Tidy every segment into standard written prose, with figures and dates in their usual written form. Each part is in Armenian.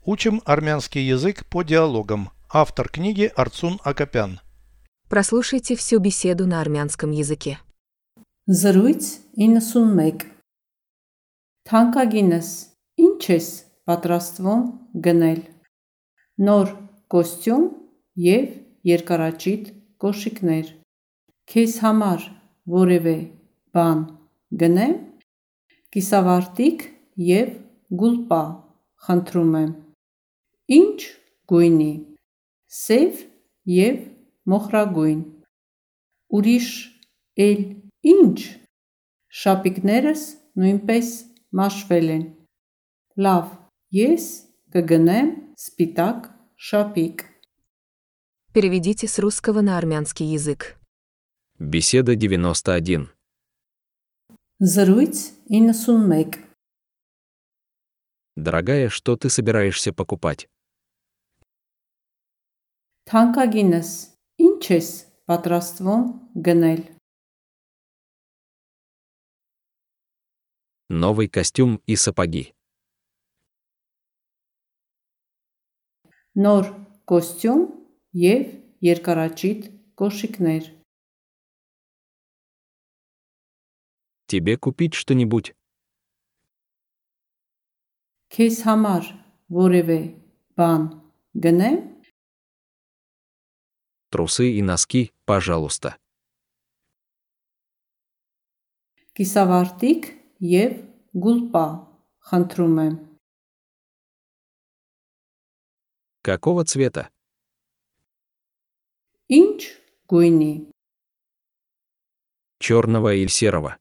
Учим армянский язык по диалогам. Автор книги Арцун Акопян. Прослушайте всю беседу на армянском языке. Զրույց 91 Թանկագինս, ինչ ես պատրաստվում գնել։ Նոր կոստյում և երկարաճիտ կոշիկներ։ Քեզ համար որևէ բան գնեմ։ Կիսավարտիք և գուլպա խնդրում եմ։ Ինչ գույնի։ Սև և մոխրագույն։ Ուրիշ էլ ինչ։ Շապիկներս նույնպես մաշվել են։ Լավ, ես կգնեմ սպիտակ շապիկ։ Переведите с русского на армянский язык. Беседа 91. Զրույց 91 Дорогая, что ты собираешься покупать? Թանկագինս, ինչ ես պատրաստվում գնել։ Новый костюм и сапоги. Նոր կոստյում և երկարաճիտ կոշիկներ։ Тебе купить что-нибудь? Քեզ համար որևէ բան գնեմ։ Трусы и носки, пожалуйста. Կիսավարտիք և գուլպա խնդրում եմ։ Какого цвета? Ինչ գույնի։ Черного или серого?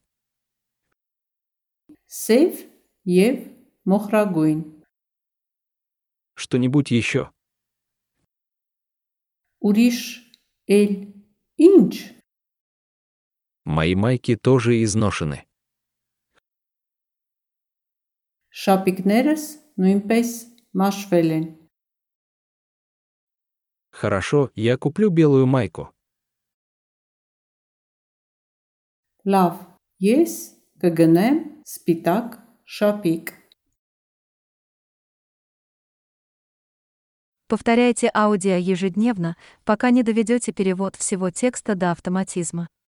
Սև և մոխրագույն։ Что-нибудь еще? Ուրիշ էլ ինչ։ Мои майки тоже изношены. Շապիկներս նույնպես մաշվել են։ Хорошо, я куплю белую майку. Լավ, ես կգնեմ սպիտակ շապիկ։ Повторяйте аудио ежедневно, пока не доведете перевод всего текста до автоматизма.